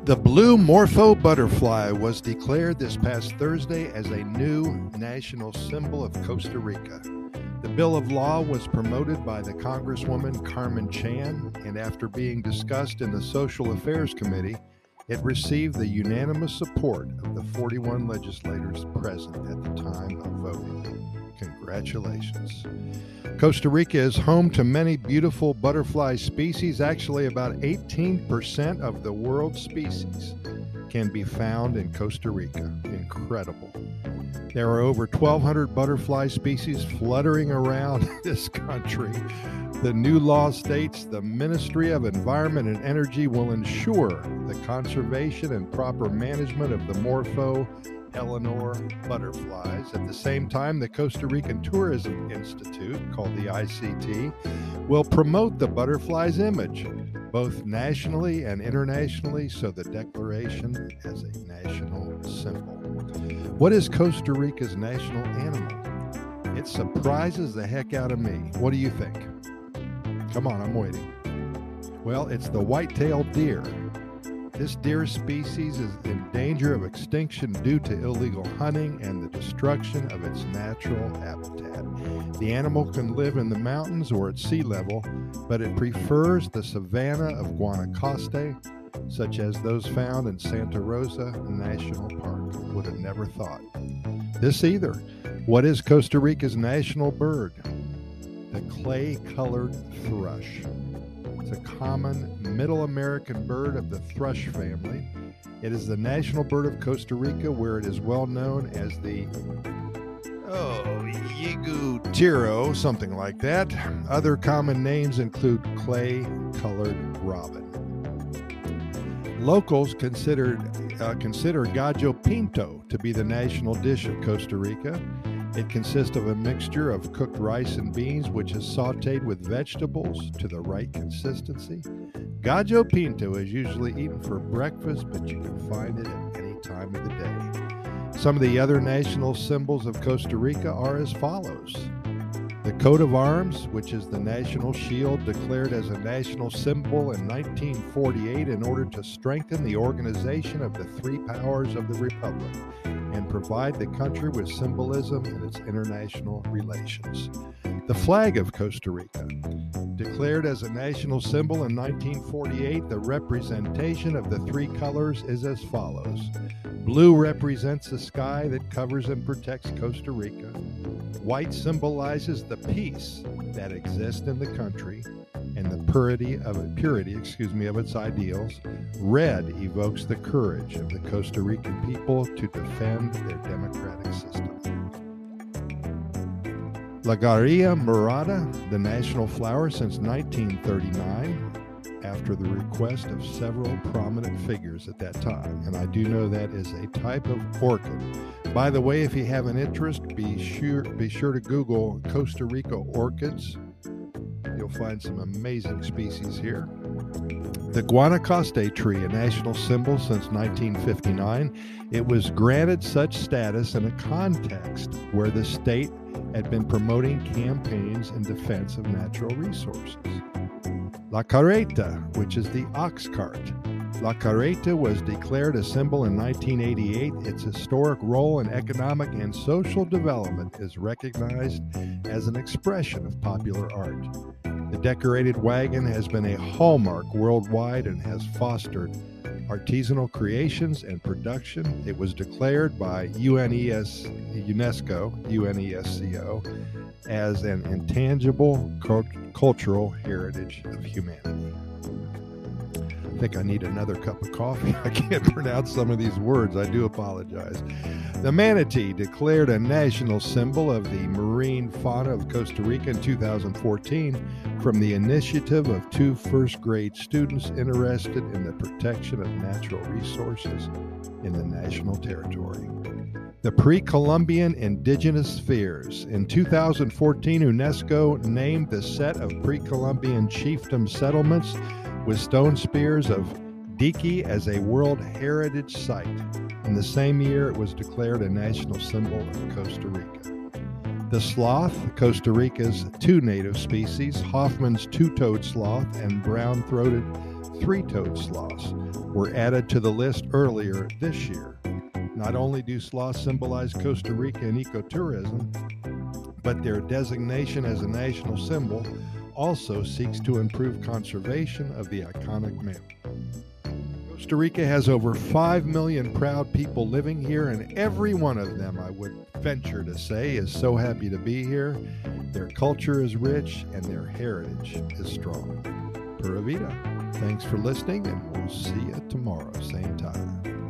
The blue morpho butterfly was declared this past Thursday as a new national symbol of Costa Rica. The bill of law was promoted by the Congresswoman Carmen Chan, and after being discussed in the Social Affairs Committee, it received the unanimous support of the 41 legislators present at the time of voting. Congratulations. Costa Rica is home to many beautiful butterfly species. Actually, about 18% of the world's species can be found in Costa Rica. Incredible. There are over 1,200 butterfly species fluttering around this country. The new law states the Ministry of Environment and Energy will ensure the conservation and proper management of the Morpho Eleanor butterflies. At the same time, the Costa Rican Tourism Institute, called the ICT, will promote the butterfly's image, both nationally and internationally, so the declaration as a national symbol. What is Costa Rica's national animal? It surprises the heck out of me. What do you think? Come on, I'm waiting. Well, it's the white-tailed deer. This deer species is in danger of extinction due to illegal hunting and the destruction of its natural habitat. The animal can live in the mountains or at sea level, but it prefers the savanna of Guanacaste, such as those found in Santa Rosa National Park. Would have never thought. This either. What is Costa Rica's national bird? The clay-colored thrush. It's a common Middle American bird of the thrush family. It is the national bird of Costa Rica, where it is well known as the yigutiro, something like that. Other common names include clay-colored robin. Locals consider gallo pinto to be the national dish of Costa Rica. It consists of a mixture of cooked rice and beans, which is sautéed with vegetables to the right consistency. Gallo pinto is usually eaten for breakfast, but you can find it at any time of the day. Some of the other national symbols of Costa Rica are as follows. The coat of arms, which is the national shield declared as a national symbol in 1948 in order to strengthen the organization of the three powers of the Republic and provide the country with symbolism in its international relations. The flag of Costa Rica, declared as a national symbol in 1948, the representation of the three colors is as follows. Blue represents the sky that covers and protects Costa Rica. White symbolizes the peace that exists in the country and the purity of its ideals. Red evokes the courage of the Costa Rican people to defend their democratic system. La Garilla Morada, the national flower since 1939, after the request of several prominent figures at that time. And I do know that is a type of orchid. By the way, if you have an interest, be sure to Google Costa Rica orchids. You'll find some amazing species here. The Guanacaste tree, a national symbol since 1959, it was granted such status in a context where the state had been promoting campaigns in defense of natural resources. La Carreta, which is the ox cart. La Carreta was declared a symbol in 1988. Its historic role in economic and social development is recognized as an expression of popular art. The decorated wagon has been a hallmark worldwide and has fostered artisanal creations and production. It was declared by UNESCO, as an intangible cultural heritage of humanity. I think I need another cup of coffee. I can't pronounce some of these words. I do apologize. The manatee, declared a national symbol of the marine fauna of Costa Rica in 2014 from the initiative of two first-grade students interested in the protection of natural resources in the national territory. The pre-Columbian indigenous spheres. In 2014, UNESCO named the set of pre-Columbian chiefdom settlements with stone spears of Diqui as a World Heritage Site. In the same year, it was declared a national symbol of Costa Rica. The sloth, Costa Rica's two native species, Hoffman's two-toed sloth and brown-throated three-toed sloths were added to the list earlier this year. Not only do sloths symbolize Costa Rica and ecotourism, but their designation as a national symbol also seeks to improve conservation of the iconic mammal. Costa Rica has over 5 million proud people living here, and every one of them, I would venture to say, is so happy to be here. Their culture is rich and their heritage is strong. Pura Vida. Thanks for listening, and we'll see you tomorrow, same time.